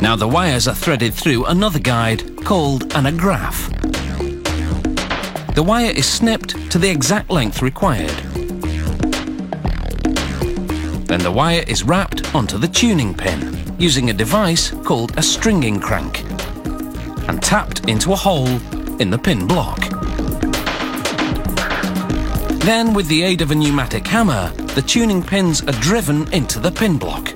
Now the wires are threaded through another guide called an agraph. The wire is snipped to the exact length required. Then the wire is wrapped onto the tuning pin using a device called a stringing crank and tapped into a hole in the pin block. Then, with the aid of a pneumatic hammer, the tuning pins are driven into the pin block.